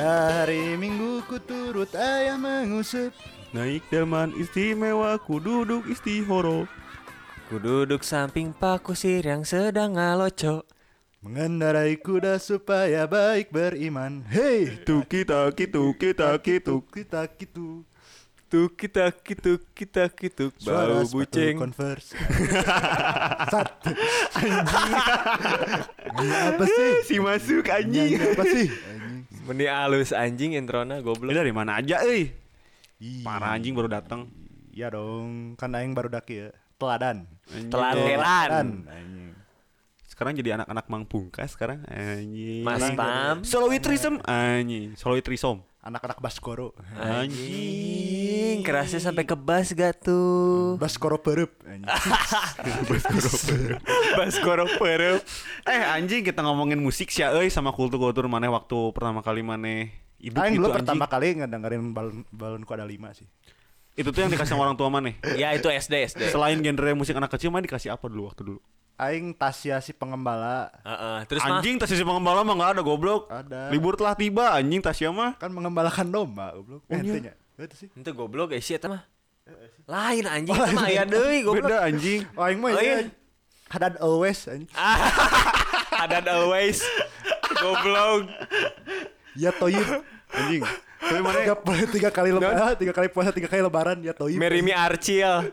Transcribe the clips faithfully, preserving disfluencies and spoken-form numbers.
Pada hari Minggu ku turut ayah mengusup. Naik delman istimewa ku duduk istihoro. Ku duduk samping Pak Kusir yang sedang ngaloco. Mengendarai kuda supaya baik beriman. Hei, Tuki taki tuki taki tuk. kita gitu. Tuk kita kituk kita kituk Suara bau sepatu bucing. Converse. Sat. Anjing. Ini apa sih? Si masuk anjing. Nyanyi apa sih? Anjing. Meni alus anjing introna Lu goblok. dari mana aja euy? Ih. Parah anjing baru datang. Iya dong, kan aing baru daki ya. Teladan. Anjing. Teladan. Anjing. Sekarang jadi anak-anak Mang Pungkas sekarang anjing. Mas Pam. Soloitrism anjing. Soloitrisom. Anak-anak Baskoro. Anjing, kerasnya sampai ke bas gak tuh? Baskoro perep. Anjing. Baskoro perep. Eh anjing kita ngomongin musik sih euy sama kultur-kultur maneh waktu pertama kali maneh hidup Aing gitu dulu anjing. pertama kali ngedengerin balon balon ku ada lima sih. Itu tuh yang dikasih sama orang tua maneh. Ya itu S D S D. Selain genre musik anak kecil maneh dikasih apa dulu waktu dulu? Aing Tasya si pengembala. Heeh, terus mah Anjing Tasya si pengembala mah enggak ada goblok. Ada. Libur telah tiba anjing Tasya mah. Kan mengembalakan domba, goblok. Oh, Eh, iya. itunya. Itu sih. itu goblok guys eta mah. Lain anjing eta mah aya deui goblok. Beda anjing. Oh, aing mah Oh, ya. iya. Hadad always anjing. Ada always goblok. Ya toyib. Anjing. Tapi mana Tiga, tiga kali lebaran, tiga kali puasa, tiga kali lebaran ya toyib. Merimi Arcil.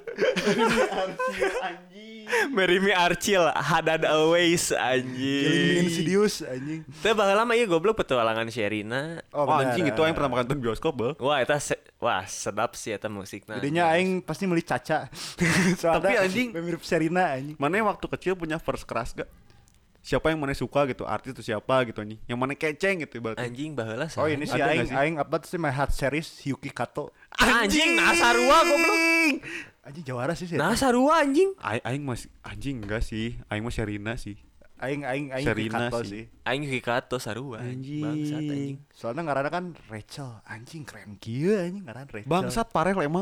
Merimi Arcil Hadad always Killing anjing. Insidious anjing. Teu baheula mah ieu goblok petualangan Sherina. Oh, benar. anjing itu yang pertama kali nonton bioskop beuh. Wah eta se- wah sedap sih eta musikna. Jadinya aing pasti beli Caca. Soalnya Tapi anjing- mirip Serina anjing. Mana waktu kecil punya verse keras gak? Siapa yang mana suka gitu, artis itu siapa gitu anjing. Yang mana keceng gitu berarti. Anjing baheula Oh ini sih Ada aing nggak sih? aing apa sih my heart series Yuki Kato. Anjing nah sarua goblok. Anjing jawara sih sih. Nah sarua anjing. Aing aing masih anjing enggak sih. Aing mah Sherina sih. Aing aing aing Yuki Sherina Kato sih. sih. Aing Yuki Kato sarua Anjing. Bangsat anjing. Soalnya ngaranna kan Rachel. Anjing keren kieu anjing ngaran Rachel. Bangsat Parel emang.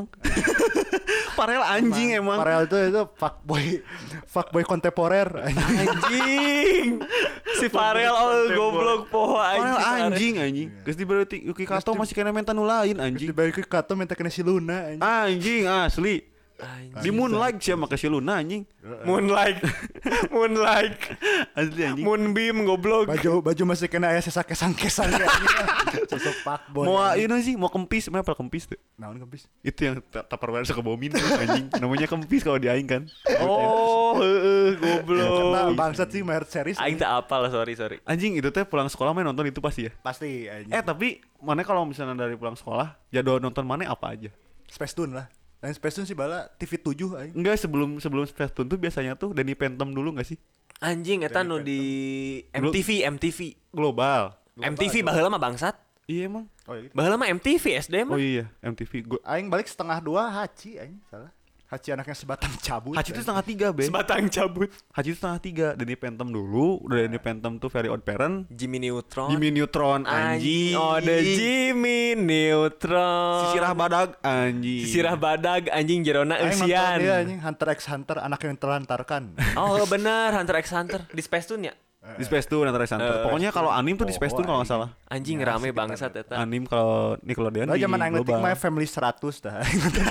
Parel anjing emang. Farel itu itu fuckboy fuckboy kontemporer anjing. Anjing. Si Farel oh goblok poho Parel anjing. anjing anjing. Geus diberi Yuki Kato masih kena menta nu lain anjing. Dibalik ke Kato minta kena si Luna anjing. Anjing asli. Anjing. Di Moonlight siapa ke si Luna anjing. Moonlight. Moonlight. Asli anjing. Moonbeam goblok. Baju baju masih kena aya sesa kesang-kesang ya anjing. Sosok fuckboy. Mau ini sih mau kempis, mana apel kempis tuh. Naon kempis? Itu yang ta- Tupperware suka bomin anjing. Namanya kempis kalau di aing kan. Oh, heeh goblok. Karena bangsat sih my heart series. Aing tak apal sorry sorry. Anjing itu teh pulang sekolah main nonton itu pasti ya. Pasti anjing. Eh tapi mana kalau misalnya dari pulang sekolah jadwal nonton mana apa aja? Space Tune lah. Dan Space Tune sih bala T V tujuh aing. Enggak sebelum sebelum Space Tune tuh biasanya tuh Danny Phantom dulu nggak sih? Anjing eta nu di M T V M T V. Global. M T V baheula mah bangsat. Iya emang. Oh iya gitu. Baheula mah M T V S D Oh mah. iya M T V. Gua Aing balik setengah dua Hachi aing salah. Hachi anaknya sebatang cabut. Hachi itu setengah tiga be. Sebatang cabut. Hachi itu setengah tiga. Danny Phantom dulu. Udah Danny Phantom tuh Very Odd Parent. Jimmy Neutron. Jimmy Neutron anjing. Anjing. Oh, ada Jimmy Neutron. Sisirah badag anjing. Sisirah badag anjing jerona Aing nonton eusian. dia anjing Hunter x Hunter anak yang terlantarkan. Oh bener Hunter x Hunter di Space Tune ya. Di Space Tune antara Center. Eh, Pokoknya kalau anim tuh di Space oh, Tune kalau nggak anjing. salah. Anjing Ya, rame sekitar bangsat itu. eta. Anim kalau Nickelodeon Lah di zaman aing letik global. My Family seratus dah.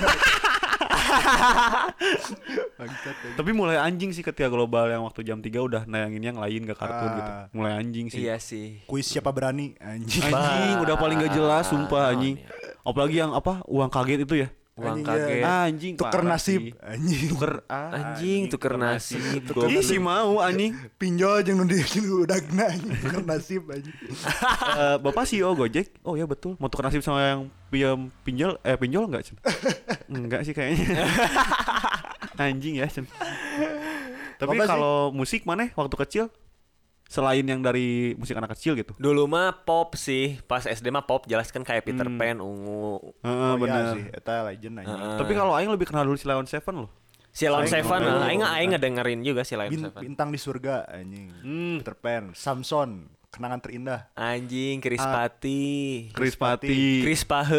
Tapi mulai anjing sih ketika global yang waktu jam tiga udah nayangin yang lain gak kartun Ah. gitu. Mulai anjing sih. Iya sih. Kuis siapa berani anjing. Anjing udah paling gak jelas sumpah anjing. iya. Apalagi yang apa uang kaget itu ya. Uang Anjing, kaget. ya. Anjing Tuker parah nasib sih. anjing. Tuker ah, Anjing tuker nasib. Tuker Ih goblok. si mau anjing. Pinjol jeung nu di udagna anjing. Tuker nasib anjing. Eh, Bapak C E O Gojek. Oh ya betul. Mau tuker nasib sama yang pinjam pinjol eh pinjol enggak, Cen? Enggak sih kayaknya. Anjing ya, Cen. Tapi Apa sih? kalau musik mana waktu kecil selain yang dari musik anak kecil gitu. Dulu mah pop sih. Pas S D mah pop jelas kan kayak Peter Hmm. Pan, Ungu. Heeh, Oh, bener. iya sih, eta legend anjing. Heeh. Tapi kalau aing lebih kenal dulu si Leon Seven loh. Si Lawn Aing Seven, dulu. aing aing ngedengerin juga si Lawn Bin- Seven. bintang di surga anjing. Hmm. Peter Pan, Samson, kenangan terindah. Anjing Chris Pati. Chris Pati. Chris Pahet.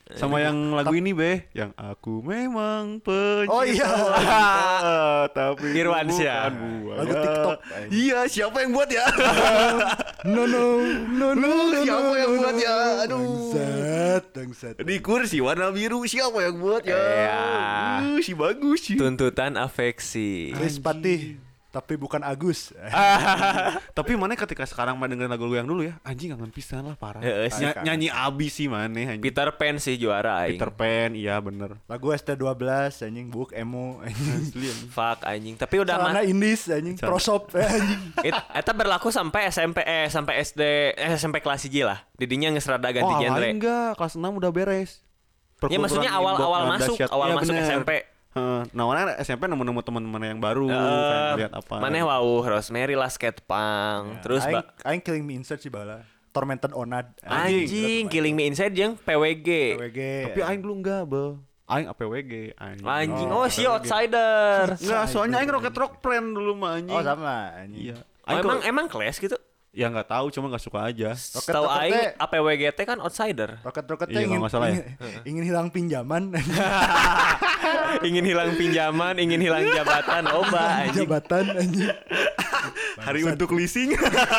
Sama yang lagu ini be, yang aku memang pencipta. Oh iya. Tapi Irwansyah. bukan buaya. Lagu TikTok. Iya, siapa yang buat ya? No no no no. Siapa yang buat ya? Aduh. Bangsat, bangsat. Di kursi warna biru siapa yang buat ya? Iya. Uh, si bagus sih. Tuntutan afeksi. Chris Patih, tapi bukan Agus. Tapi mana ketika sekarang main dengerin lagu yang dulu ya, anjing kangen pisan lah parah. Heeh, sih. Ny- nyanyi abis sih mana anjing. Peter Pan sih juara aing. Peter Pan, iya bener. Lagu S T dua belas anjing, Book emo anjing. Asli anjing. Fuck anjing. Tapi udah mah. Celana Indis anjing, Celana- prosop anjing. It- Eta berlaku sampai S M P eh sampai S D eh sampai kelas hiji lah. Didinya geus rada ganti Oh, genre. awalnya enggak, kelas enam udah beres. Ya maksudnya Perkumpulan awal-awal Imbok masuk, dahsyat. awal Iya, masuk bener. S M P. Heeh. Nah, mana S M P nemu-nemu teman-teman yang baru, Eh, kayak lihat apa. Maneh wau Rosemary lah skate punk. Terus aing, ba- aing Killing Me Inside sih bala. Tormented Onad. anjing Killing Me Inside jeung P W G. P W G. Tapi aing dulu enggak, Bel. Aing A P W G, anjing. Anjing. Oh, Oh, si outsider. Enggak, soalnya aing Rocket Rock Friend dulu mah anjing. Oh sama anjing. Iya. Oh, Aing emang kalau- emang kelas gitu. ya enggak tahu, cuma enggak suka aja. Rocket Tahu Rocket aing teh- A P W G T kan outsider. Roket-roket Iya, ingin, kalau nggak salah ya. ingin, ingin hilang pinjaman. Ingin hilang pinjaman, ingin hilang jabatan, oba anjing. Jabatan anjing. Hari untuk leasing.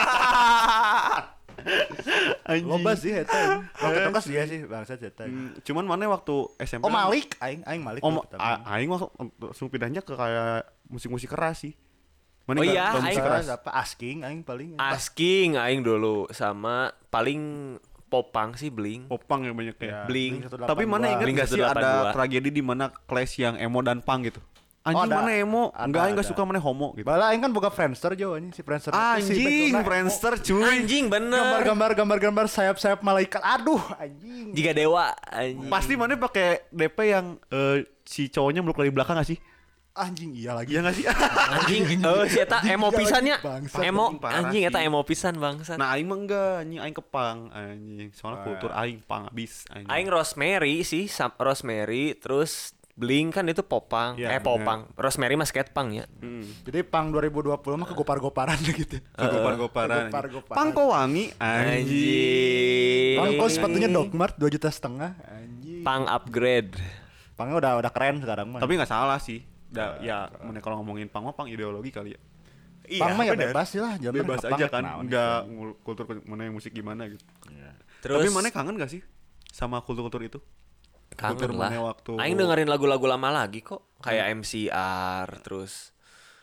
Anjing. Loba sih eta. Roket-roket dia sih bangsa eta. Hmm, Cuman mana waktu S M P. Oh Malik, aing aing Malik. Oh, dulu pertama. a- aing langsung langsung pindahnya ke kayak musik-musik keras sih. Mana Oh nggak- iya, nggak musik aing- keras. Keras apa asking aing paling. Asking aing dulu sama paling popang sih Blink. Popang yang banyak Ya, ya. Blink. seratus delapan puluh dua. Tapi mana ingat Blink nggak sih seratus delapan puluh ada dua. tragedi di mana Clash yang emo dan punk gitu? Anjing ada. mana emo? Ada, Enggak, aing nggak ada. suka mana homo gitu. Bala aing kan boga Friendster jo anjing si Friendster. itu si Anjing, background-na Friendster cuy. Anjing bener. gambar-gambar gambar-gambar sayap-sayap malaikat. Aduh anjing. Jika dewa anjing. Pasti mana pakai D P yang eh, si cowoknya meluk dari belakang gak sih? Anjing iya lagi. Iya gak sih? Anjing, oh si eta emo Anjing, pisannya. bangsat, Emo anjing, parah anjing eta sih. emo pisan bangsat. Nah, aing mah enggak, anjing aing kepang anjing. Soalnya Ah. kultur aing pang abis anjing. Aing Rosemary sih, sam- Rosemary terus Blink kan itu popang, Iya, eh popang. Rosemary mah skate punk ya. Hmm. Jadi pang dua ribu dua puluh mah kegopar-goparan gitu. Gopar-goparan. Gopar-goparan. Pang kok wangi anjing. Anjing. Pang kok sepatunya Dogmart dua juta setengah anjing. Pang upgrade. Pangnya udah udah keren sekarang mah. Tapi nggak salah sih. Da, ya, mana kalau ngomongin pang mah pang ideologi kali ya. Pang mah ya bener. bebas sih lah, jangan Bebas ngepang aja ya kan. kenaon Enggak ngul- kultur mana yang musik gimana gitu. Terus Tapi mana kangen gak sih sama kultur-kultur itu? kultur kangen lah. mana waktu- Aing dengerin lagu-lagu lama lagi kok, kayak M C R terus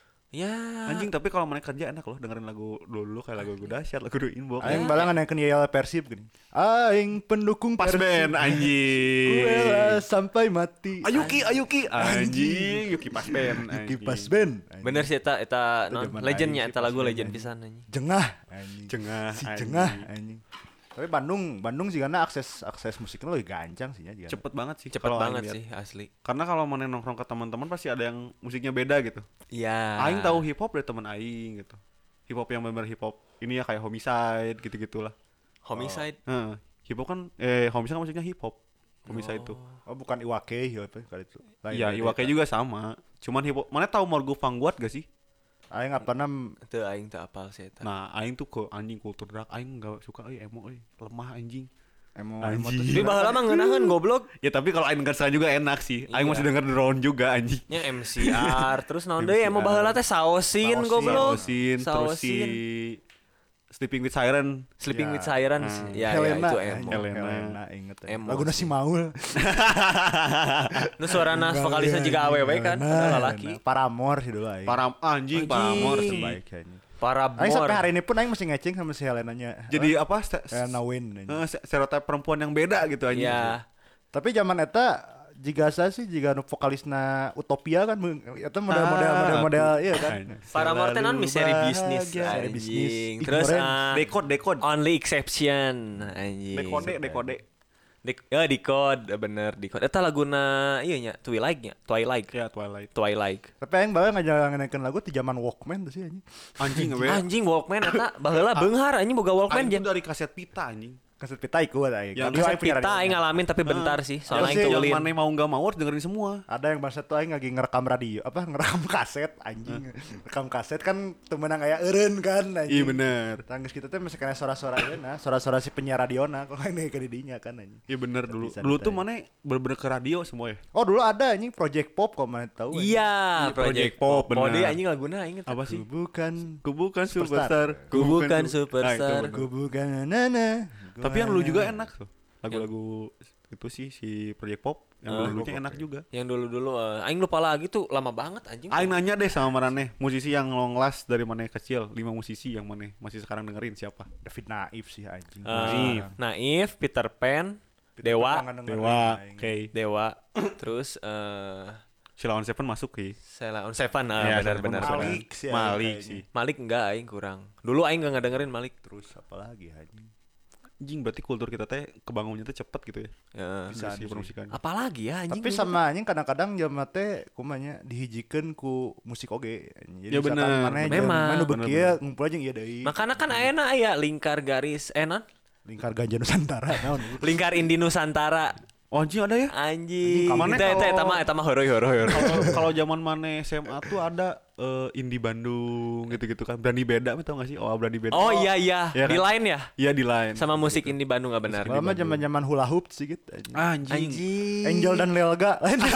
ya Anjing, tapi kalau mana kerja enak loh dengerin lagu dulu kayak lagu dahsyat, lagu do inbox. Aing balangan yang Yel Persib gini. Aing pendukung Pas Persib. band anjing. Kuela sampai mati. Ayuki, Ayuki, anjing, Yuki pas band, Yuki anjing. pas band. anjing. bener sih eta eta Itu non zaman legendnya aing sih eta pas lagu band, legend anjing. pisan anjing. Jengah anjing. Jengah, Si anjing. jengah anjing. Tapi Bandung, Bandung sih karena akses akses musiknya lebih gancang sih ya. Cepet banget sih. Cepet kalau banget aing lihat. sih asli. Karena kalau mana nongkrong ke teman-teman pasti ada yang musiknya beda gitu. Iya. Aing tahu hip hop dari teman aing gitu. Hip hop yang benar hip hop. Ini ya kayak Homicide gitu-gitulah. Homicide. Heeh. Hip hop kan eh Homicide kan musiknya hip hop. Homicide itu. Oh bukan Iwake ya apa kali itu. Lain, Iya, lain, Iwake lain. juga sama. Cuman hip hop. Mana tahu Morgu Vanguard gak sih? Aing apa nam Teu aing teu apal sih eta. Nah, aing tuh ke anjing kultur drag aing enggak suka euy emo euy. Lemah anjing. emo Anjing. emo tuh Tapi baheula mah ngeunaheun goblok. Ya tapi kalau aing denger sekarang juga enak sih. Aing Iya. masih denger drone juga anjing. Nya M C R terus naon deui M C R. emo baheula teh saosin Saosin. goblok. Saosin, terus si Sleeping with Siren. Sleeping Ya. with Sirens. Hmm. Ya, ya Helena, itu anjing. emo. Helena. Helena inget. Emo Lagu nasi sih. maul. Nu suarana vokalisnya juga awewe kan, padahal lalaki. Paramore sih dulu aing. Para anjing, Anjing. Paramore terbaik kayaknya. Para Aing sampai bor. hari ini pun aing masih ngeceng sama si Helenanya. Jadi apa? ste- Helena Win. anjing. eh, se- stereotip perempuan yang beda gitu anjing. Ya. Tapi zaman eta jika saya sih jika nu vokalisna Utopia kan eta model-model Ah, model-model iya kan. Anjing. Para Morten non misteri bahagia, bisnis misteri bisnis. anjing. Ih, Terus keren. ah, Dekod, dekod. only exception anjing. Dekode, dekode. Dek, ya decode bener decode. Eta laguna iya nya Twilight nya, Twilight. Ya, Twilight. Twilight. Tapi aing bae ngajanganekeun lagu ti zaman Walkman tuh sih anjing. Anjing we. Anjing Walkman eta baheula beunghar anjing boga Walkman Aing jen. tuh dari kaset pita anjing. Kaset pita ikut aing. Yang Tapi aing Kaset punya pita radionya. aing ngalamin tapi bentar sih, soalnya sih, aing yang tulin. mana mau nggak mau harus dengerin semua. Ada yang bahasa tuh aing lagi ngerekam radio, apa ngerekam kaset anjing. Rekam kaset kan temenang aya eureun kan anjing. Iya bener. Tanggus kita tuh masih kena suara-suara nah, suara-suara si penyiar radiona kalau ini ke didinya kan anjing. Iya bener dulu. Bisa Dulu tuh ditanya. mana bener-bener ke radio semua ya. Oh dulu ada anjing Project Pop kalau mana tahu. anjing. Iya, Project Project Pop, Pop. Oh, bener. dia anjing laguna aing eta. Apa sih? Ku bukan Ku bukan Superstar. superstar. Ku bukan su- superstar. Nah, itu bener. ku bukan nana. Tapi yang dulu juga enak tuh. Lagu-lagu itu sih si Project Pop yang Ah. dulu-dulunya enak juga. Yang dulu-dulu uh, aing lupa lagi tuh lama banget anjing. Aing nanya deh sama Marane, musisi yang long last dari mana kecil, lima musisi yang mana masih sekarang dengerin siapa? David Naif sih anjing. Uh, Naif. Naif, Peter Pan, Dewa, Dewa, oke. Dewa, terus eh Sheila on Seven masuk sih. Sheila on Seven, ah, Iya, benar Sheila benar on benar. Malik sih. Malik kayaknya. sih. Malik enggak aing kurang. Dulu aing enggak ngedengerin Malik. Terus apa lagi anjing? Anjing berarti kultur kita teh kebangunnya tuh cepet gitu ya. Ya. Bisa Si sih. permusikan. Apalagi ya anjing. Tapi dulu sama anjing kadang-kadang jelema teh kumanya dihijikeun ku musik oge. Jadi Ya misalkan bener, maneh bener. jeung Memang. manu Bener, beuki ya ngumpul aja ieu deui. makanya kan ayeuna aya lingkar garis eh non? Lingkar Ganja Nusantara naon. Lingkar Indi Nusantara. Oh anjing ada ya? Anjing. Anjing, Eta eta kalau- eta mah eta mah horoy horoy horoy. Kalau kalau zaman mana S M A tuh ada eh, Indie Bandung gitu-gitu kan. Berani beda tau gak sih? Oh, Berani beda. Oh iya iya, Iya di kan? line ya? Iya di line. Sama musik Indi Bandung enggak benar. Lama zaman-zaman hula hoop sih gitu. anjing. anjing. Anjing. Angel dan Lelga.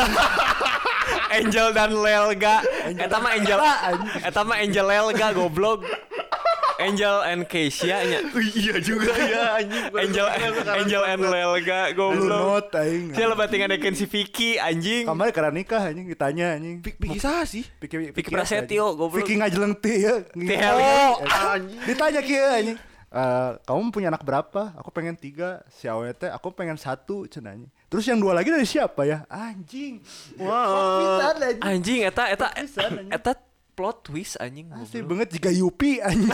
Angel dan Lelga. Eta mah Angel. Eta mah Angel Lelga goblok. Angel and Keisha nya. iya juga ya anjing. Angel Angel and Lelga Blue goblok. Note aing. Saya lebat tinggalin si Vicky anjing. Kemarin karena nikah anjing ditanya anjing. Pik sah sih. Vicky Vicky Prasetyo goblok. Vicky ngajeleng teh ya. Teh, Oh, anjing. ditanya kieu anjing. Eh, kamu punya anak berapa? Aku pengen tiga. Si Awe teh, aku pengen satu cenanya. Terus yang dua lagi dari siapa ya? Anjing. Wah. anjing. Anjing eta eta Pisan, anjing. eta plot twist anjing. Asli goblok. banget jika Yupi anjing.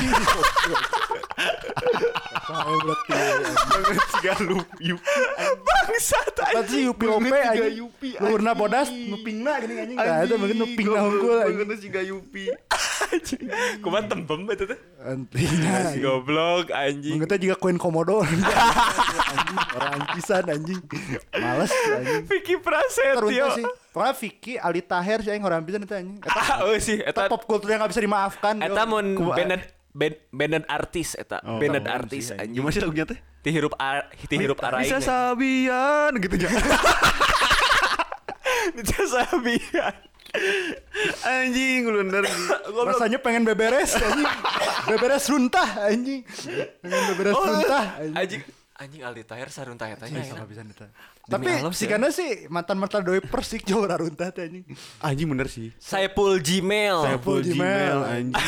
Saya berarti. Banget sih gak lu. Bangsat Apa sih Yupi Lope Banget juga anjing? Yupi, Luhurna anjing. bodas nupingna gini anjing. Enggak ada banget nupingna hungkul anjing. Banget sih gak Yupi. Kumaha tembem eta teh. Antinya. Si goblok anjing. Mungkin juga koin komodo. Anjing, orang pisan anjing. Males anjing. Vicky Terunta Prasetyo. sih. Pokoknya Vicky, Ali Taher sih aing orang pisan itu anjing. Eta Ah, oh sih eta eta pop culture yang gak bisa dimaafkan. eta yo. mun Kumaha. banded band banded artis eta. Oh, Banded keren artis sih, anjing. anjing. Gimana sih lagunya teh? Ti hirup ar ti hirup araing. Bisa sabian gitu jangan. Bisa sabian. Anjing lu bener. Rasanya pengen beberes anjing. Beberes runtah anjing. Pengen beberes Oh, runtah anjing. Anjing anjing Aldi Tahir saruntah eta nya. Sama bisa neta. Demi Tapi Allah si sih. kana sih mantan-mantan doi persik jauh runtah teh anjing. Anjing bener sih. Saipul Gmail. Saya full Gmail. Gmail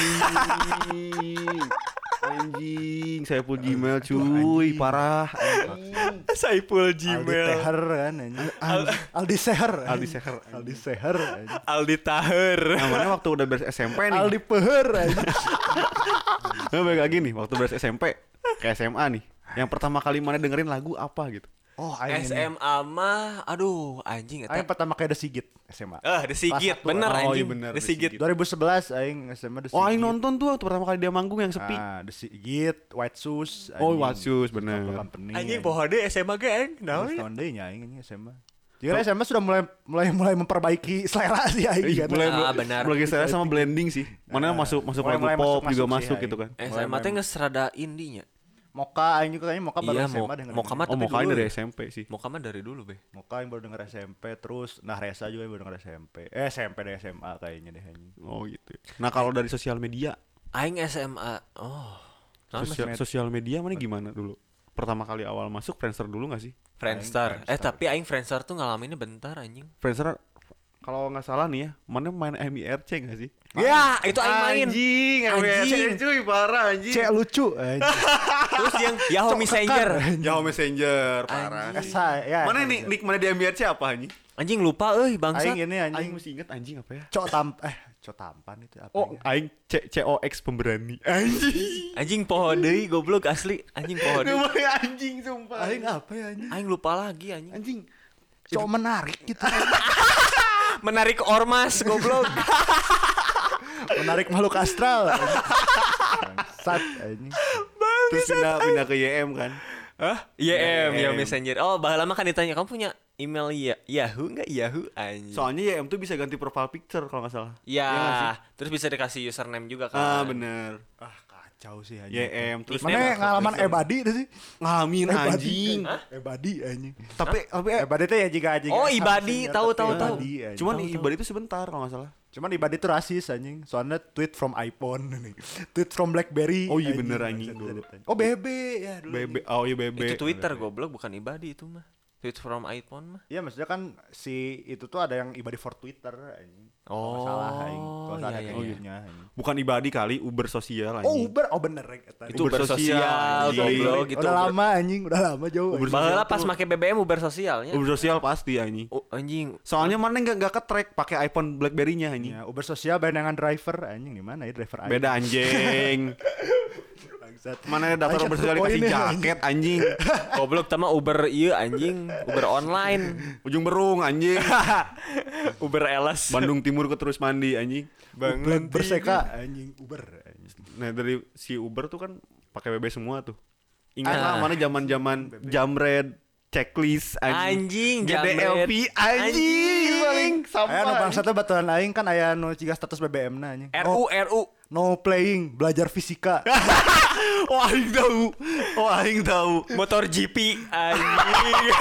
anjing. Anjing, saya full Gmail cuy, parah. Anjing. Saipul Aldi Gmail. Teher kan anjing. Aldi Seher. Aldi Seher. Aldi Seher anjing. Aldi Tahir. Namanya waktu udah beres S M P nih. Aldi Peher anjing. Nah, balik lagi nih, waktu beres S M P ke S M A nih. Yang pertama kali mana dengerin lagu apa gitu? Oh, aing S ini. M A mah aduh anjing Aing eta. pertama kali The Sigit S M A. Eh, The Sigit, Pas satu. bener Oh, iya anjing. bener, The The Sigit. Sigit. dua ribu sebelas aing S M A The Sigit. Oh, aing nonton tuh waktu pertama kali dia manggung yang sepi. Ah, The Sigit, White Shoes. Oh, anjing. White Shoes, bener. Satu company, Anjing poho deui S M A ge aing. Naon Naon? tahun deui nya aing ini S M A. Jadi S M A sudah mulai mulai mulai memperbaiki selera sih aing Iya, kan. mulai Ah, benar. mulai saya sama blending sih. Mana masuk masuk mulai- lagu mulai pop masuk- juga masuk masuk sih, gitu kan. S M A teh geus rada indinya. Moka aing juga kayaknya Moka baru Iya, S M A Mo- dengerin. Moka mah Oh, tapi mau kain dulu dari ya. S M P sih. Moka mah dari dulu, Be. Moka yang baru denger S M P terus nah Resa juga yang baru denger S M P. Eh S M P dari S M A kayaknya deh anjing. Oh gitu. Nah, kalau dari sosial media, Aing S M A. Oh. Naon Mas? sosial, sosial media mana gimana dulu? Pertama kali awal masuk Friendster dulu gak sih? Friendster. Aing Eh, Friendster. tapi aing Friendster tuh ngalaminnya bentar anjing. Friendster kalau nggak salah nih ya, mana main M I R C gak sih? Ya, itu aing main. Anjing, M I R C Anjing. cuy, parah anjing. Cek lucu anjing. Terus yang Yahoo Messenger. Yahoo Messenger, parah. Esa ya. Mana nih nick mana di M I R C apa anjing? Anjing lupa euy bangsat. Aing ini Aing anjing masih inget anjing apa ya? cok tam eh cok tampan itu apa Oh, ya? aing C C O X pemberani. Anjing. Anjing poho deui goblok asli. Anjing poho deui. Namanya anjing sumpah. Aing apa ya anjing? Aing lupa lagi anjing. Anjing. Cok menarik gitu. Menarik ormas goblok. Menarik makhluk astral. Sat anjing. Terus pindah pindah ke Y M kan. Hah? I M, ya Messenger. Oh, baheula mah kan ditanya, "Kamu punya email ya Yahoo enggak? Yahoo anjing." Soalnya Y M tuh bisa ganti profile picture kalau nggak salah. Ya, Iya nggak sih? terus bisa dikasih username juga kan. Ah, bener. Ah, kacau sih Y anjing. M terus Nickname Mana apa? ngalaman Nickname. ebadi itu sih? ngalamin Ebadi, anjing. Ebadi anjing. Tapi tapi eh, Ebadi itu ya jika anjing. Oh, Ibadi, tahu, tahu, tahu. cuman ibadah itu sebentar kalau nggak salah. Cuman Ibadi itu rasis anjing. Soalnya tweet from iPhone nih. Tweet from BlackBerry. Oh iya bener anjing dulu. Oh B B ya dulu. B B oh iya B B. Itu Twitter goblok, bukan Ibadi itu mah. Tweet from iPhone mah. Iya maksudnya kan si itu tuh ada yang Ibadi for Twitter anjing. Kalau nggak Oh, salah anjing. Kalau iya, salah iya, kayak iya. gitunya, anjing. Bukan Ibadi kali, Uber sosial Oh anjing. Uber, oh bener rek. Itu Uber Uber sosial, sosial, anjing. goblok gitu. Udah lama anjing, udah lama jauh. Uber anjing. Baheula sosial pas tuh. make B B M Uber sosialnya. Uber sosial pasti anjing. Oh, anjing. Soalnya mana nggak nggak ke track pakai iPhone BlackBerry-nya anjing. Ya, Uber sosial barengan driver anjing gimana ya driver anjing. Beda anjing. Bangsat. Mana ada daftar Anjing, Uber sosial satu dikasih poin ya, jaket anjing. Goblok tama Uber ieu anjing, Uber online. Ujung Berung anjing. Uber Elas. Bandung Timur ke Terus Mandi anjing. Uber berseka anjing Uber anjing. Nah dari si Uber tuh kan pakai B B semua tuh. Ingat Ah. lah mana zaman-zaman Jamred, checklist Anjing, G D L P Jamret. anjing paling Aya nu sampah. bangsatnya baturan aing kan aya nu ciga status B B M-na anjing. R U R U. No playing, belajar fisika. Wah, aing tahu. Wah, aing tahu. Motor G P anjing.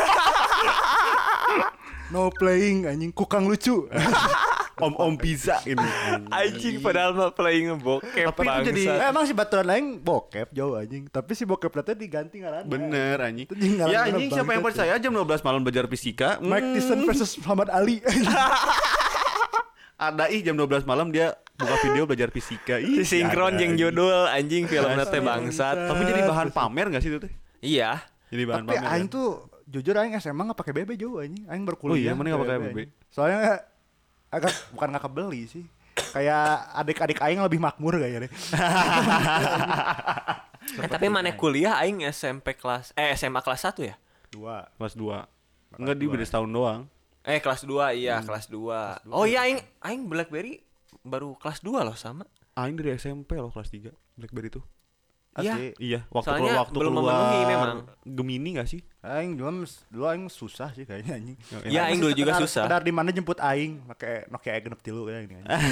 No playing anjing kukang lucu. Om-om pizza ini. Anjing padahal mah playing bokep Tapi itu jadi- Eh, emang si baturan aing bokep jauh anjing, tapi si bokep teh diganti ngaranna. Bener anjing. Itu jeung ngaranna Ya anjing siapa yang bangsat, percaya jam dua belas malam belajar fisika? Mike Hmm, Tyson versus Muhammad Ali. ada ih jam dua belas malam dia buka video belajar fisika. Ih, Si sinkron ada, jeung anjing. judul anjing filmna teh bangsat. Tapi jadi bahan pamer enggak sih itu teh? Iya. Jadi bahan Tapi pamer. aing kan? tuh jujur aing S M A nggak pakai B B jauh anjing. Aing berkuliah. Oh iya, mana nggak pakai B B? anjing. Soalnya agak bukan nggak kebeli sih. Kayak adik-adik aing lebih makmur kayaknya deh. Eh, tapi mana kuliah aing S M P kelas eh S M A kelas satu ya? Dua. Kelas dua. Enggak di beda setahun doang. Eh kelas dua iya, kelas dua. Oh iya aing aing BlackBerry baru kelas dua loh sama. Aing dari S M P loh kelas tiga BlackBerry tuh. Iya. Asli. Iya, waktu Soalnya keluar waktu belum keluar memenuhi memang. Gemini enggak sih? Aing dulu dulu aing susah sih kayaknya anjing. Iya, aing dulu juga Sekedar- susah. Sekedar di mana jemput aing pakai Nokia E genep tilu kayak gini anjing.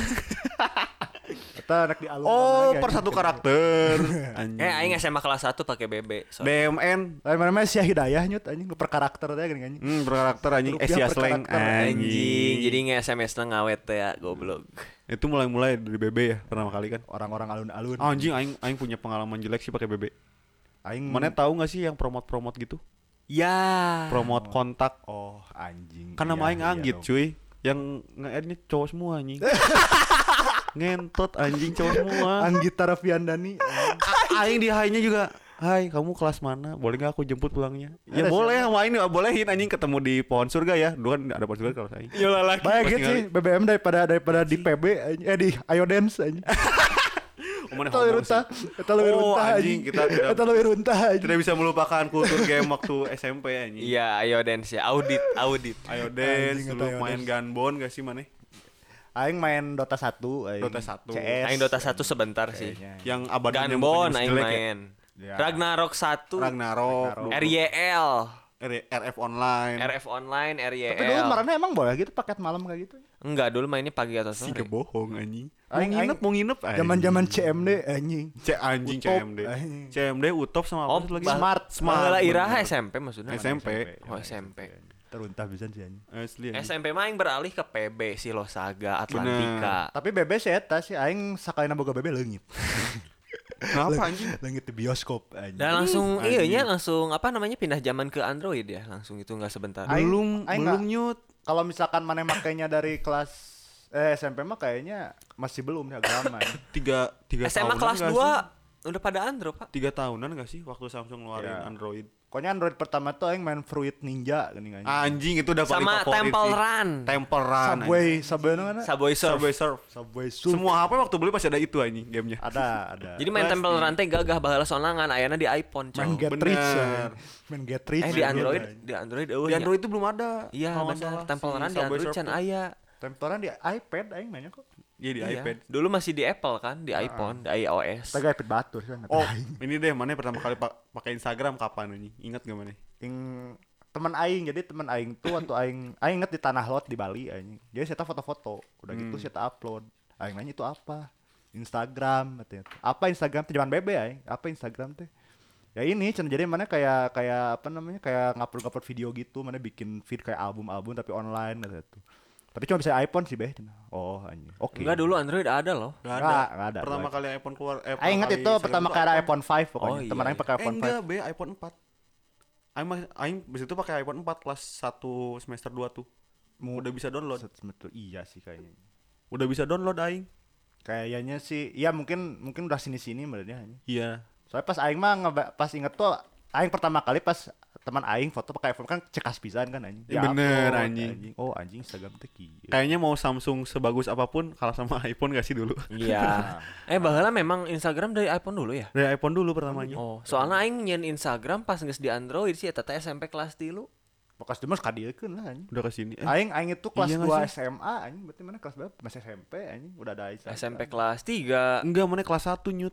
Kita anak di alun Oh, per satu karakter. Anjing. Eh aing S M A kelas satu pakai B B. D Sorry. M N. Lain mana Syah Hidayah nyut anjing per karakter teh gini anjing. Hmm, per karakter anjing Rupiah Asia per slang karakter, Anjing, jadi nge-S M S-na ngawet teh ya, goblok. Itu mulai-mulai dari B B ya pertama kali kan. Orang-orang alun-alun. Anjing aing aing punya pengalaman jelek sih pakai B B. Aing Mana tahu nggak sih yang promote-promote gitu? Ya. Promote kontak. Oh, anjing. Kan nama Iya, aing iya Anggit dong. cuy. Yang nge-add-nya cowok semua anjing. Ngentot anjing cowok semua. Anggita Rafiandani. A- aing di hai-nya juga. Hai, kamu kelas mana? Boleh nggak aku jemput pulangnya? Ya Ada boleh, sama ini bolehin anjing ketemu di pohon surga ya. Dulu kan ada pohon surga kalau saya. Yolah lagi. Baik Pasti gitu sih B B M daripada daripada di P B anjing. eh di Iodance anjing. Mana Eta leuwih runtah, eta leuwih Oh, runtah anjing, anjing. kita tidak- Eta leuwih runtah anjing. Tidak bisa melupakan kultur game waktu S M P anjing. Iya, ayo dance ya. Audit, audit. Ayo dance Anjing, dulu ayo main dance. gunbon gak sih mana? Aing main Dota satu, aing. Dota satu. C S. Aing Dota satu sebentar sih. Kayaknya. Yang abadinya Gunbon mukanya aing jelek ya? main. Ya. Ragnarok satu. Ragnarok, Ragnarok. R Y L. R- RF online. R F online, R Y L. Tapi dulu marahnya emang boleh gitu paket malam kayak gitu. Enggak, dulu mainnya pagi atau Si sore. kebohong anjing. Mau Aing- nginep, aing- mau nginep anjing. Zaman-zaman C M D anjing. C anjing C Utop, M D. anjing. C M D Utop sama Oh, apa satu lagi? bah- Smart. Smart. Baheula iraha bener. S M P maksudnya. S M P. Oh, S M P. Teruntah bisa sih anjing. Asli anjing. S M P mah aing beralih ke P B Silosaga Atlantika. Tapi B B sih eta sih aing sakaliana boga B B leungit. Kenapa anjing? Leungit di bioskop anjing. Dan langsung anjing. iya nya langsung apa namanya pindah zaman ke Android ya, langsung itu enggak sebentar. Aing- Belum aing belum nggak- nyut. Kalau misalkan mana makainya dari kelas eh S M P mah kayaknya masih belum ya agak lama. ya. Tiga tiga S M A tahunan kelas nggak dua sih? udah pada Android, Pak. Tiga tahunan gak sih waktu Samsung ngeluarin Ya. Android? Pokoknya Android pertama tuh aing main Fruit Ninja gini kan. Anjing itu udah paling Sama favorit Temple sih. Run. Temple Run. Subway, Subway mana? Subway Surf. Subway Surf. Subway Surf. Semua H P waktu beli pasti ada itu anjing gamenya. Ada, ada. Jadi main Pasti. Temple Run teh gagah baheula sorangan ayana di iPhone, main coy. Get bener. Rich ya. Main Get Rich. Eh di main Android, gitu. di Android eueuh. Di nya. Android itu belum ada. Iya kalau nggak benar. salah, Temple si Run di Subway Android Surf can tuh. aya. Temporan di iPad aing mainnya kok. Iya di Iya. iPad. Dulu masih di Apple kan, di iPhone, di iOS. Kita iPad batur kan. Oh, ini deh mana pertama kali pa- pakai Instagram kapan ini? Ingat gak mana? Yang teman aing, jadi teman aing tuh waktu aing aing inget di Tanah Lot di Bali aing. Jadi saya foto-foto, udah gitu Hmm. saya upload. Aing nanya itu apa? Instagram katanya. Apa Instagram teh zaman bebe aing? Apa Instagram teh? Ya ini cenah jadi mana kayak kayak apa namanya? Kayak ngupload-ngupload video gitu, mana bikin feed kayak album-album tapi online gitu tuh. Tapi cuma bisa iPhone sih beh. Oh anjing. Oke. Enggak, dulu Android ada loh. Gak Nggak, nggak ada. Pertama Gua- kali iPhone keluar eh, Aing inget kali itu Instagram pertama tuh kali ada iPhone lima pokoknya. Oh, iya, Teman aing iya. pakai Eh iPhone lima. enggak, be iPhone empat. Aing mah- aing bis itu pakai iPhone empat kelas satu semester dua tuh. Mu- Udah bisa download. Betul, iya sih kayaknya. Udah bisa download aing. Kayaknya sih, ya mungkin mungkin udah sini-sini sebenarnya. Iya. Soalnya pas aing mah ngeba- pas inget tuh aing pertama kali pas teman aing foto pakai iPhone kan cekas pisan kan anjing. Ya bener, upload, anjing. Oh anjing Instagram teh kieu. Kayaknya mau Samsung sebagus apapun kalah sama iPhone gak sih dulu? Iya. eh baheula memang Instagram dari iPhone dulu ya? Dari iPhone dulu pertamanya. Oh, soalnya aing nyen Instagram pas geus di Android sih eta teh S M P kelas tilu. Bekas demas kadiekeun lah anjing. Udah kesini. Eh, Aing aing itu kelas iya nggak dua sih? S M A anjing, berarti mana kelas berapa? Masih S M P anjing, udah ada Instagram. S M P kelas tiga. enggak, mana kelas satu nyut.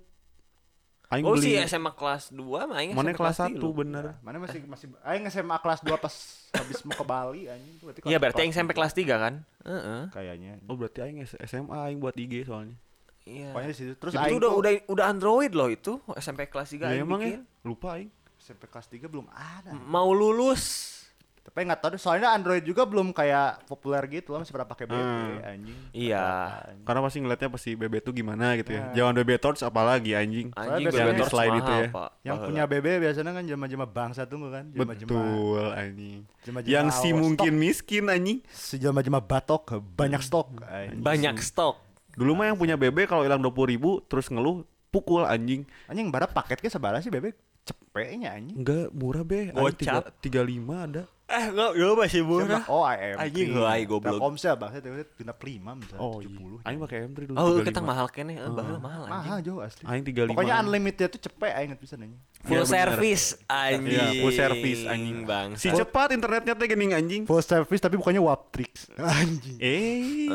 Aing Oh beli. sih S M A kelas dua mah aing Mana S M P kelas tilu. satu bener. Mana masih masih aing S M A kelas dua pas habis mau ke Bali anjing. Berarti Iya, kelas- berarti aing S M P tiga. kelas tiga kan? Heeh. Kayaknya. Oh berarti aing S M A aing buat I G soalnya. Iya. Pokoknya di situ terus Itu aing udah tuh udah udah Android loh itu S M P kelas tiga Ya aing emang bikin. ya, lupa aing. S M P kelas tiga belum ada. M- Mau lulus. Tapi nggak tahu deh, soalnya Android juga belum kayak populer gitu loh, masih pada pakai B B Hmm. anjing. Iya. Anjing. Karena pasti ngeliatnya pasti B B tuh gimana gitu ya. Nah. Jangan B B Torch apalagi anjing. Anjing biasanya Bebe Torch slide mahal, itu ya. Pak. Yang Baheula. punya B B biasanya kan jema-jema bangsa tunggu kan, jema-jema Betul anjing. jema-jema Yang si awas, mungkin stok. miskin anjing. Si jema-jema batok banyak stok. Anjing. Banyak stok. Dulu mah yang punya B B kalau hilang dua puluh ribu terus ngeluh pukul anjing. Anjing bara paketnya sebarang sih B B cepetnya anjing. Enggak murah be. Gocap. tiga puluh lima ada. Eh, enggak, enggak masih murah. Oh, I M. Anjing, heuai goblok. Telkomsel bangsa teh genep lima misalnya Oh tujuh puluh. iya. Aing pakai M tiga dulu. Oh, tiga puluh kita lima. mahal kene, eh, baheula mahal anjing. Mahal jauh asli. Aing tiga puluh lima. Pokoknya unlimited tuh cepet aing inget pisan anjing. Full Iya, bener. service anjing. Iya, full service anjing. Bang. Si cepat internetnya teh geuning anjing. Full service tapi bukannya Waptrix. Anjing. Eh.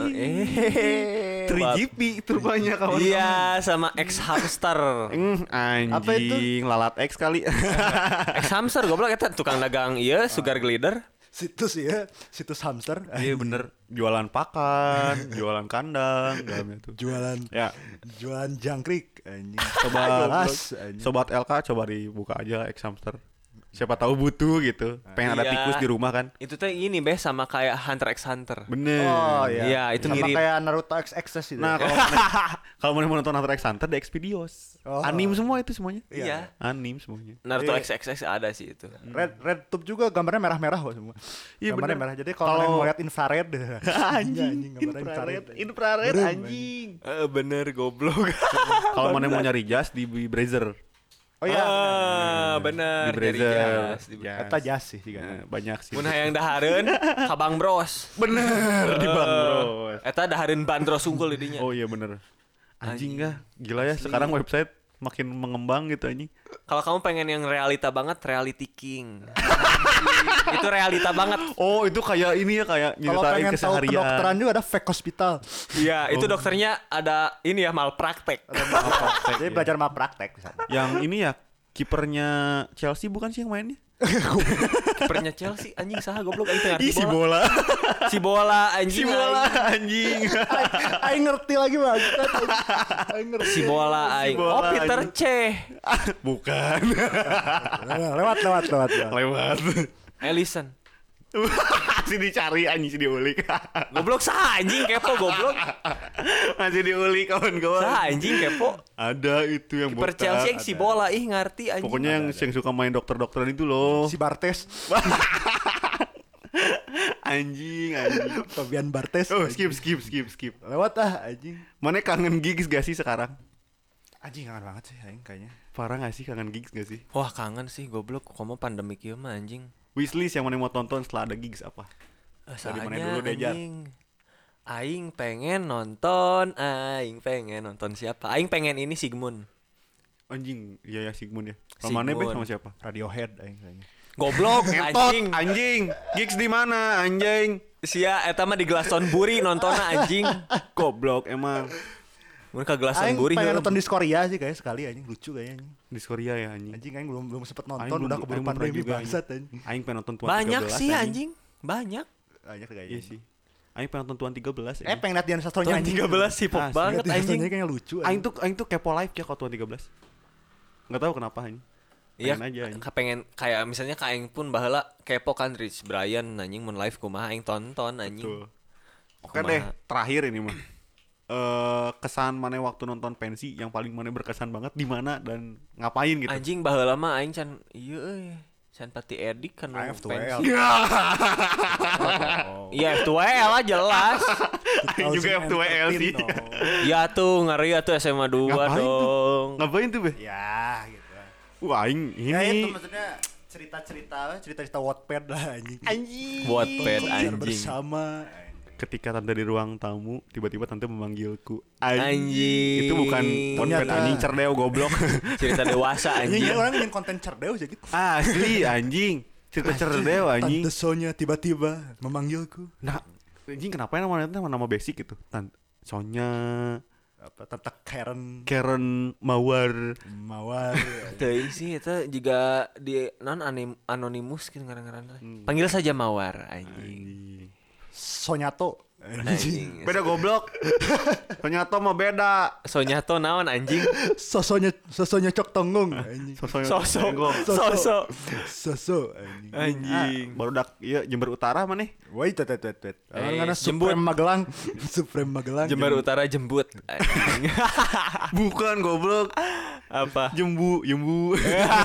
Eh. tiga G P itu rupanya kawan. Iya, sama X hamster. Mm, Apa itu? anjing, lalat X kali. X hamster goblok eta tukang dagang ieu sugar glider. Situs ya, situs hamster. Iya bener, jualan pakan, jualan kandang, dalamnya tuh. Jualan Ya, jualan jangkrik anjing. sobat Jelas, anjing. sobat L K coba dibuka aja X hamster. Siapa tahu butuh gitu. Pengen ada Iya. tikus di rumah kan. Itu teh ini beh sama kayak Hunter x Hunter. Bener. Oh iya. Iya, itu sama mirip. kayak Naruto X X itu. Nah, kalau kalau mau nonton Hunter x Hunter di Xvideos. Oh. Anim semua itu semuanya. Iya. Anim semuanya. Naruto Iya. X X X ada sih itu. Red Red Tube juga gambarnya merah-merah kok semua. Iya, gambarnya bener. merah. Jadi kalau Kalau- kalian mau lihat infrared Anjing, gambarnya infrared, infrared. infrared Berem, anjing. Eh bener goblok. Kalau mana mau nyari jas di Brazzer. Oh iya. Ah, bener. Di Dari Brazzer. jas, di- Ya. Eta jas sih juga. Nah, banyak sih. Mun hayang dahareun ka Bang Bros. Bener di Bang Bros. Eta dahareun bandros unggul di dinya. Oh iya bener. Anjing Anjing. kah? Gila ya sekarang website makin mengembang gitu anjing. Kalau kamu pengen yang realita banget, Reality King. Itu realita banget. Oh itu kayak ini ya kayak Kalau nyeritain pengen tahu keseharian. kedokteran juga ada fake hospital. Iya, itu Oh. dokternya ada ini ya malpraktek. Jadi belajar malpraktek di sana. Yang ini ya kipernya Chelsea bukan sih yang mainnya? Kipernya Chelsea anjing saha goblok aing teu ngarti Ih si bola. bola. Si bola anjing. Si bola aing. anjing. Aing ngerti lagi bang. Aing ngerti. Si bola aing. bola, Oh, Peter anjing. C. Bukan. Lewat lewat lewat. lewat. Lewat. Ellison. Masih dicari anjing si diulik. Goblok saha anjing kepo goblok. Masih diulik kawan-kawan. Saha anjing kepo. Ada itu yang Kiper botak. Chelsea yang si bola ih ngarti anjing. Pokoknya yang yang suka main dokter-dokteran itu loh. Si Bartes. Anjing, anjing. Fabian Bartes. Oh, skip, skip, skip, skip. Lewat ah anjing. Mana kangen gigs gak sih sekarang? Anjing kangen banget sih aing kayaknya. Parah gak sih kangen gigs gak sih? Wah kangen sih goblok. Komo pandemi kieu mah anjing. Wishlist yang mana mau tonton setelah ada gigs apa? Eh, Dari mana saanya, dulu deh, Jar? anjing. Aing pengen nonton, aing pengen nonton siapa? Aing pengen ini Sigmund. Anjing, iya ya Sigmund ya. Kalau mana be Sigmund. sama siapa? Radiohead aing kayaknya. Goblok Ngetot anjing. anjing. Gigs di mana anjing? Sia eta mah di Glastonbury nontonnya anjing. Goblok emang. Mun ka Aing Glastonbury pengen heuh. nonton di Korea sih kayak sekali anjing, lucu kayaknya anjing. Di Korea ya anjing. Anjing aing belum belum sempet Aing nonton, belum- udah aing keburu belum pernah pandemi juga, bangsat anjing. Aing pengen nonton Tuan Banyak tiga belas, sih anjing. Banyak. Banyak kayaknya. Iya sih. Aing pengen nonton Tuan tiga belas. Eh pengen liat Dian Sastronya Tuan anjing. tiga belas hip hop Asli. banget Dian anjing. Sastronya kayaknya lucu. Aing tuh aing tuh kepo live ya kalau Tuan tiga belas. Enggak tahu kenapa anjing. Iya, Pengen aja anjing. kepengen kayak misalnya ka aing pun baheula kepo kan Rich Brian anjing mun live kumaha aing tonton anjing. Tuh. Oke Kumaha. deh, terakhir ini mah. Eh kesan mana waktu nonton pensi yang paling mana berkesan banget di mana dan ngapain gitu. Anjing baheula mah aing can ieu euy. Can pati edik kan I have to pensi. well. Iya F two L lah jelas. Aing juga F two L sih. Ya tuh ngeri atuh S M A dua Ngapain tuh? dong. Ngapain tuh, Be? Ya gitu. Wah, aing Ya itu ini. maksudnya cerita-cerita cerita-cerita Wattpad lah anjing. Anjing. Wattpad Konser anjing. bersama. Ketika tante di ruang tamu, tiba-tiba tante memanggilku. Anjing. Itu bukan Wattpad Ternyata. anjing cerdeo goblok. Cerita dewasa Anjing anjing. orang ingin konten cerdas aja gitu. Asli anjing. Cerita cerdeo anjing. Tante Sonya tiba-tiba memanggilku. Nah, anjing kenapa ya namanya nama nama basic gitu? Tante Sonya, Apa Tante Karen Karen Mawar. Mawar. Teuing sih itu juga di non anim, anonimus gitu ngaran-ngaran. Hmm. Panggil saja Mawar anjing. Anjing. Sonyato. Anjing. Beda goblok. Ternyata mah beda. Sonyato naon anjing. Sosonya sosonya cok tonggong anjing. Sosok Sosok. Soso. Sosok. Soso anjing. Anjing. Ah, baru dak iya Jember Utara mana? Wait, wait, wait, wait. Eh, Karena jembut. Supreme Magelang. Supreme Magelang. Jember Utara jembut. Anjing. Bukan goblok. Apa? Jembu, Jembu.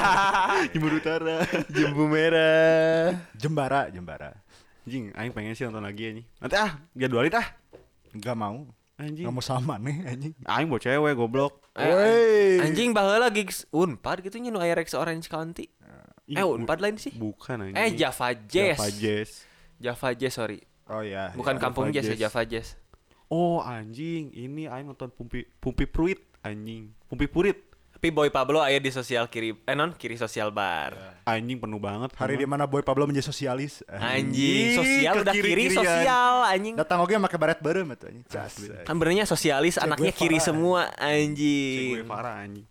Jember Utara. Jembu merah. Jembara, Jembara. Anjing, aing pengen sih nonton lagi anjing. Nanti ah, jadwalin ah. Enggak mau. Anjing. Enggak mau sama nih anjing. Aing bawa cewek goblok. Eh, Wey. anjing baheula gigs Unpad gitu nya nu aya Rex Orange County. Ih, Eh Unpad lain sih. Bukan anjing. Eh Java Jazz. Java Jazz. Java Jazz sorry. Oh iya. Bukan Java Kampung Jazz ya Jazz. Java Jazz. Oh anjing, ini aing nonton Pumpi Pumpi Pruit anjing. Pumpi Purit. Tapi Boy Pablo aya di sosial kiri eh non kiri sosial bar. Anjing penuh banget. Hari di mana Boy Pablo menjadi sosialis. Anjing, sosial ke udah kiri kiri-kirian. sosial anjing. Datang oke pakai baret bareng atuh anjing. Cas. Kan benernya sosialis Che anaknya Guevara, kiri anjing. semua Cek anjing. gue parah anjing.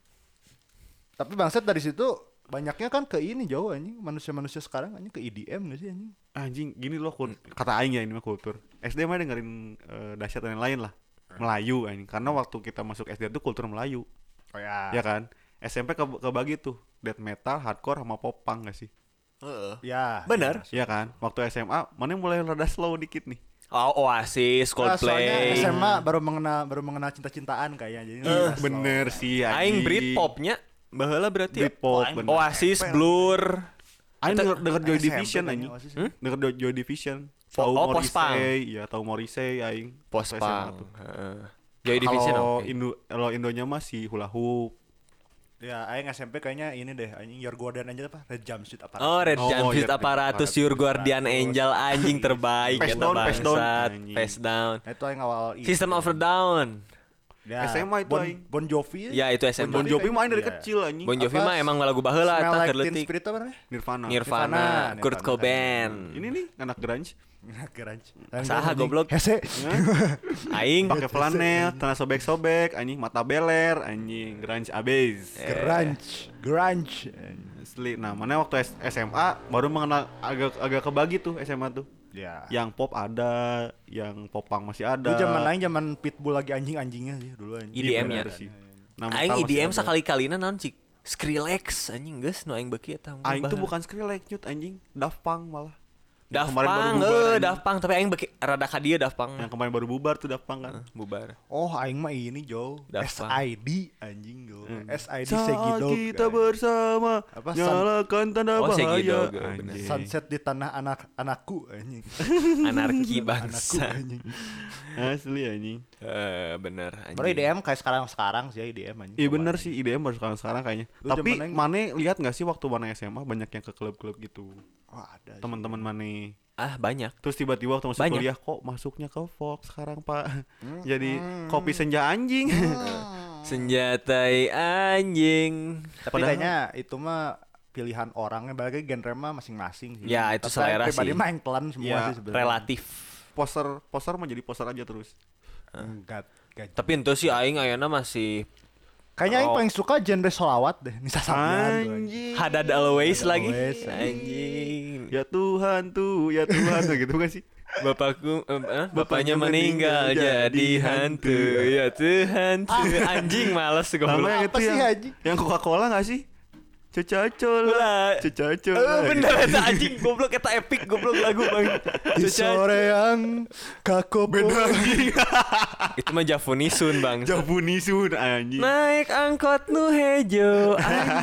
Tapi bangsat dari situ banyaknya kan ke ini jauh anjing. Manusia-manusia sekarang anjing ke E D M gak sih anjing? Anjing gini loh kul- kata aing ya ini mah kultur. S D mah dengerin eh, dahsyat dan lain lah. Melayu anjing. Karena waktu kita masuk S D itu kultur Melayu. Oh ya. Ya kan? S M P ke kebagi tuh death metal, hardcore sama pop punk gak sih? Heeh. Ya. Bener. Iya kan? Waktu S M A mana yang mulai rada slow dikit nih. Oh, Oasis, Nah, soalnya Coldplay. S M A baru mengenal baru mengenal cinta-cintaan kayaknya. Jadi Ih, slow. bener sih anjing. Aing Britpopnya baheula berarti ya? Britpop, Oh, aing bener. Oasis, Blur. Aing denger, denger Joy S M P Division kayaknya anjing. Oasis. Hmm? Denger Joy, Joy Division. Po- Tahu oh, post-punk. Morrissey, iya tahu Morrissey aing. Post Waktu S M A punk. tuh. Heeh. Joy Division Kalau oke. Indo kalau Indonya mah si Hula Hoop. Ya, aing S M P kayaknya ini deh, anjing Your Guardian aja apa? Red Jumpsuit apa? Oh, Red Oh, Jumpsuit iya, Apparatus, Apparatus. Your Guardian Angel anjing terbaik Face kata down, face down. bangsat. Anjing. Face down. Nah, itu aing awal itu. System of a Down. Ya, S M A itu bon, aing. Bon Jovi. Ya itu S M A. Bon Jovi mah aing dari Iya. kecil anjing. Bon Jovi Apa? mah emang lagu baheula Smell eta Like keur Teen leutik. Spirit apa namanya? Nirvana. Nirvana, Nirvana, Kurt Nirvana. Cobain. Ini nih anak grunge. Grunge. Saha goblok? Hese. Aing Pakai flanel, tanah sobek-sobek, anjing mata beler, anjing grunge abis. Grunge. Grunge. Asli. Nah, mana waktu S- SMA baru mengenal agak agak kebagi tuh S M A tuh. Ya. Yang pop ada, yang popang masih ada. Dulu zaman lain zaman Pitbull lagi anjing-anjingnya sih dulu anjing. E D M Iya, nya. bener sih. Nah, Aing metal E D M masih ada. sakali-kalina naon cik? Skrillex anjing geus nu aing beuki eta. Aing tuh bukan Skrillex nyut anjing, Daft Punk malah. Yang Daft kemarin baru Punk, bubar, eh anjing. Daft Punk tapi aing beuki rada ka dieu Daft Punk. Yang kemarin baru bubar tuh Daft Punk kan. Bubar. Oh, aing mah ini Jo. Daft S Punk. I D anjing Jo. Hmm. S I D Saat Segidog. kita bersama Apa, nyalakan tanda Oh, bahaya. Segidog, eh, bener. Anjing. Sunset di tanah anak anakku anjing. Anarki Anakku bangsa. anjing. Asli anjing. Eh bener anjing. Baru E D M kayak sekarang-sekarang sih ya E D M anjing. Iya bener sih I D M baru sekarang sekarang kayaknya. Lu Tapi zaman aing- Mane lihat nggak sih waktu Mane S M A banyak yang ke klub-klub gitu. Wah, ada. sih. Teman-teman Mane. Ah banyak. Terus tiba-tiba waktu masuk Banyak. kuliah kok masuknya ke Fox sekarang Pak. Jadi kopi senja anjing. Hmm. Senjatai anjing. Tapi Padahal- kayaknya itu mah pilihan orangnya, balik lagi genre mah masing-masing sih. Ya, itu Tapi selera pribadi sih. mah yang telan semua Ya, sih sebenarnya. Relatif. Poster poster mah jadi poster aja terus. Enggak. enggak. Tapi ente sih aing ayeuna masih Kayaknya yang Oh. paling suka genre solawat deh, Nisa Sabyan. tuh, anjing. Anjing. Hadad always Hadad lagi. always, Anjing. Ya Tuhan tuh, ya Tuhan tuh gitu kan sih. Bapakku eh, eh, bapaknya Bapaknya meninggal meninggal jadi jadi hantu. hantu. Ya Tuhan. tuh. Anjing males Sama goblok. yang Apa itu sih, yang anjing? yang Coca-Cola enggak sih? Cecacol. Lah. Cecacol. Eh, bener eta anjing goblok eta epic goblok lagu bang. Di Caca- sore yang kaku beda Itu mah Javunisun bang. Jabunisun anjing. Naik angkot nu hejo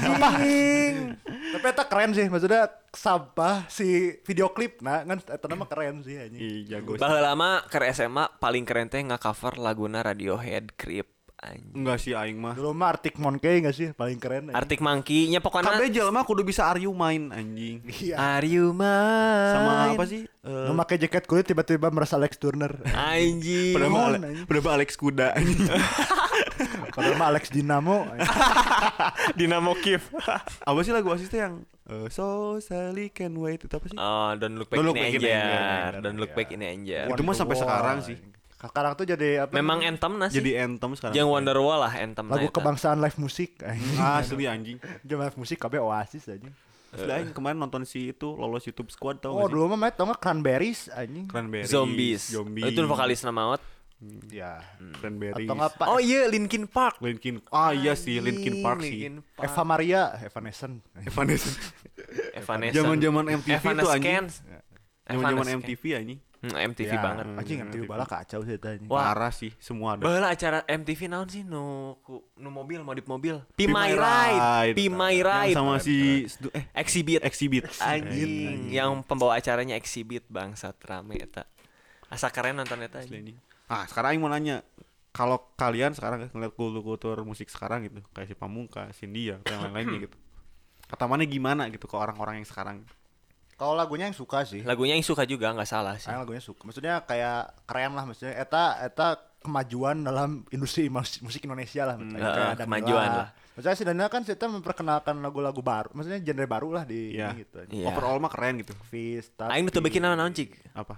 anjing. Tapi eta keren sih, maksudnya sampah si video klip nah kan eta mah keren sih anjing. Ih, jago. sih. Baheula lama ke S M A paling keren teh nge-cover laguna Radiohead Creep anjing. Enggak sih aing mah. Dulu mah Arctic Monkey enggak sih paling keren. anjing. Arctic Monkey nya pokoknya Kabeh jelema kudu bisa Are You Mine anjing. Iya. Are you mine? Sama apa sih? Eh, Lu pakai jaket kulit tiba-tiba merasa Alex Turner. Anjing. Padahal mah Mohon, Ale- anjing. padahal mah Alex Kuda anjing. Padahal mah Alex Dinamo. anjing. Dinamo Kiev. Apa sih lagu asisnya yang eh, So Sally Can Wait itu apa sih? Oh, don't look back Don't in Look Back in anger. Anger. Don't look back in anger. Itu mah sampai Wonderwall, sekarang sih. anjing. Sekarang tuh jadi apa? Memang namanya? anthem sih. Jadi anthem sekarang. Yang Wonderwall lah anthem lagu kebangsaan live musik. anjing. Asli anjing. Jam live musik kabeh Oasis anjing. Asli aing kemarin nonton si itu lolos YouTube Squad tau Oh, gak sih? dulu mah main tau nggak Cranberries anjing. Cranberries. Zombies. Zombie. Itu vokalis nama maut. Ya. Cranberries. Atau nggak Pak Oh iya Linkin Park. Linkin. Ah iya sih Linkin Park sih. Linkin Park. Eva Maria, Evanescence. Evanescence. Evanescence. Zaman-zaman M T V tuh anjing. Evanescence. Zaman-zaman Evanescence. M T V anjing. Hmm, M T V Ya, banget. Anjing M T V bala kacau sih tanya. Wah. Parah sih semua ada. Baheula acara M T V naon sih nu ku- nu mobil modif mobil. Be Be My My Ride. Ride. Be My Yang Ride. sama si eh Exhibit. Exhibit. Anjing, yang pembawa acaranya Exhibit bangsat rame eta. Asa keren nonton eta Asli anjing. anjing. Ah, sekarang aing mau nanya. Kalau kalian sekarang ngeliat kultur-kultur musik sekarang gitu, kayak si Pamungkas, India, atau yang lain-lainnya gitu. Kata mana gimana gitu ke orang-orang yang sekarang? Kalau lagunya yang suka sih. Lagunya yang suka juga nggak salah sih. Saya lagunya suka. Maksudnya kayak keren lah maksudnya. Eta eta kemajuan dalam industri mus- musik Indonesia lah. maksudnya. Hmm, Kayak uh, Danila. kemajuan lah. Maksudnya si Danila kan kita memperkenalkan lagu-lagu baru. Maksudnya genre baru lah di Iya. ini gitu. Iya. Overall mah keren gitu. Fist, Aing nu teu bikin naon cik. Apa?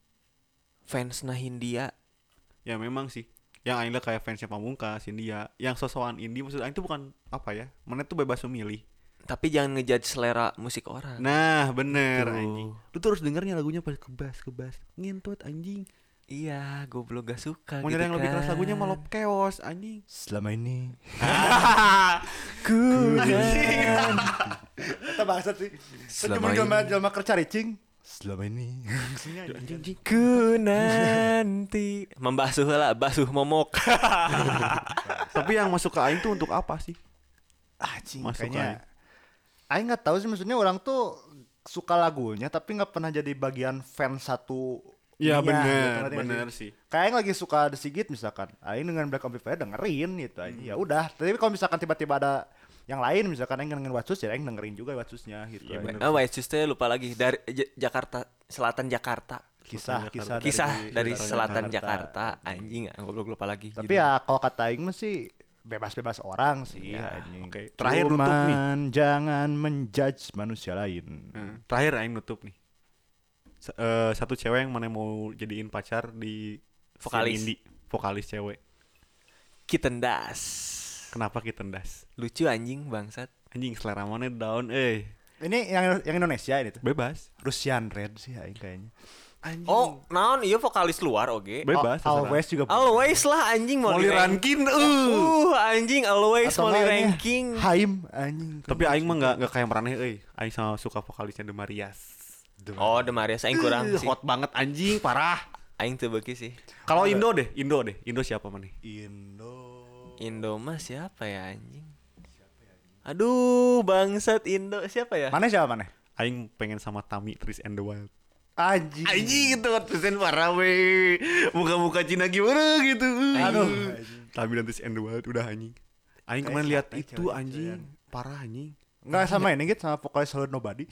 Fans nah Hindia. Ya memang sih. Yang aing liat kayak fansnya Pamungkas, India, yang sosokan indie maksud aing itu bukan apa ya? Mana tuh bebas memilih. Tapi jangan ngejudge selera musik orang. Nah, bener Tuh. anjing. Lu tuh harus dengernya lagunya pas kebas, kebas. Ngintut anjing. Iya, goblok gak suka Mau gitu nyari yang lebih keras kan. lagunya malah chaos anjing. Selama ini. Ku Eta bangsat sih. Selama Selama ini. jelma jelma kerja ricing. Selama ini. Anjing. Ku nanti membasuh lah, basuh momok. Tapi yang masuk ke aing tuh untuk apa sih? Anjing Masuk kayaknya. Aing nggak tahu sih maksudnya orang tuh suka lagunya tapi nggak pernah jadi bagian fans satu. Ya ininya, bener, gitu, ngerti nggak bener sih? sih. Kayak Aing lagi suka The Sigit misalkan, Aing dengan Black Amplifier dengerin gitu aja. Ya udah. Tapi kalau misalkan tiba-tiba ada yang lain misalkan Aing dengerin Watsus ya Aing dengerin juga Watsusnya gitu. Iya, aja. bener. Oh, White Shoes teh lupa lagi dari J- Jakarta Selatan Jakarta. Kisah kisah Kisah dari Selatan Selatan Jakarta, anjing ah, goblok lupa lagi. Tapi ya kalau kata Aing mah sih bebas-bebas orang sih Ya, anjing. oke. Terakhir nutup nih. Cuman jangan menjudge manusia lain. Hmm. Terakhir aing nutup nih. S- eh, satu cewek yang mana mau jadiin pacar di Vokalis. scene indie, vokalis cewek. Kitten Das. Kenapa kita tendas? Lucu anjing bangsat. Anjing selera mana down eh. Ini yang yang Indonesia ini tuh. Bebas. Russian Red sih Aing kayaknya. Anjing. Oh, naon iya vokalis luar oge. Bebas. Al- terserah. Always juga. Always lah anjing mau Molly Rankin uh. Uh, anjing always Atau Molly nggak ini, ranking. Haim anjing. Tapi aing mah enggak enggak kayak Maraneh euy. Aing sama suka vokalisnya The Marias. Oh, The Marias aing kurang Ih, sih. hot banget anjing, parah. Aing teu beuki sih. Kalau Indo deh, Indo deh. Indo siapa mana? Indo. Indo mah siapa ya anjing? Aduh, bangsat Indo siapa ya? Mana siapa mana? Aing pengen sama Tami Tris and the Wild. Anjing. Anjing itu tulisan parah we. Muka-muka Cina gimana gitu. Aduh. Tami dan Tris and the Wild udah anjing. Aing Kayak kemarin lihat siapa itu cewek anjing. itu Parah anjing. Enggak sama ini gitu sama vokalis Hello Nobody.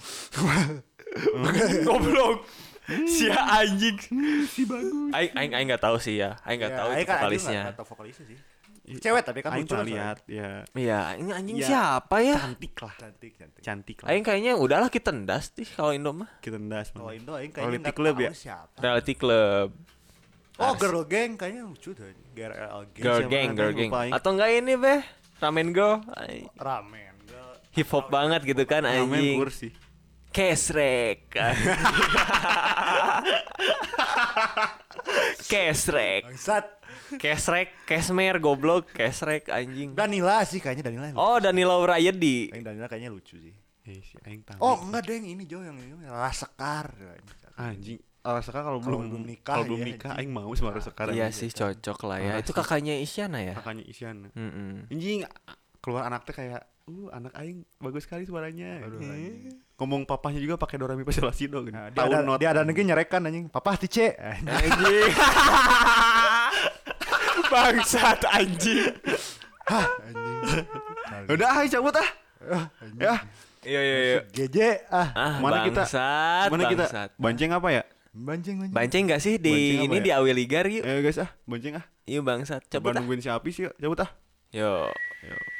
Goblok. Si anjing. Si bagus. Aing aing aing enggak tahu sih ya. Aing enggak tahu itu Aing kan- Aing vokalisnya. nggak tahu vokalisnya sih. Cewek tapi kan Aing lucu pernah kan, lihat ya. Iya, ini anjing Ya, siapa ya? Cantik lah. Cantik, cantik. Cantik lah. Aing kayaknya udahlah kita tendas sih kalau Indo mah. Kita ndas. Kalau man. Indo aing Quality kayaknya enggak club tahu ya? siapa. Reality Club. Oh, Ars. Girl Gang kayaknya lucu tuh. G R L Gang. Girl siapa Gang, namanya? Girl Gang. Lupa aing. Atau enggak ini beh? Ramen Girl. Ay, Ramen. Girl. hip hop banget gitu kan Ramen anjing. kursi. Kesrek. Kesrek. Bangsat. Kesrek, Kesmer, goblok, Kesrek anjing. Danila sih kayaknya Danila. yang lucu. Oh, Danila Wirayedi. Aing Danila kayaknya lucu sih. Eh, si aing tahu. Oh, enggak deng ini Jo yang ini Rasekar. Anjing. Alaska kalau Kalau belum belum nikah, kalau belum iya, nikah anjing. aing mau sama Rasekar. Iya sih cocok lah ya. Ah, Itu sih. kakaknya Isyana ya? Kakaknya Isyana. Mm-mm. Anjing keluar anak teh kayak uh anak aing bagus sekali suaranya. Aduh, Eh. anjing. Ngomong papahnya juga pakai Dorami Paselasido gitu. Nah, dia ada dia ada lagi nyerekan anjing. Papa tice. Anjing. Bangsat anjing. Hah, anjing. Udah ayo cabut ah. Ya. Iya iya iya. G J ah. Ah, Mana kita- bangsat, Mana kita bangsat. banceng apa ya? Bancing bancing. Banceng gak sih di Banceng apa ini ya? di Awiligar yuk? Ayo guys ah, bonceng ah. Yuk bangsat, Coba cepet ah. nungguin si Api sih, cabut ah. Yo. Yo.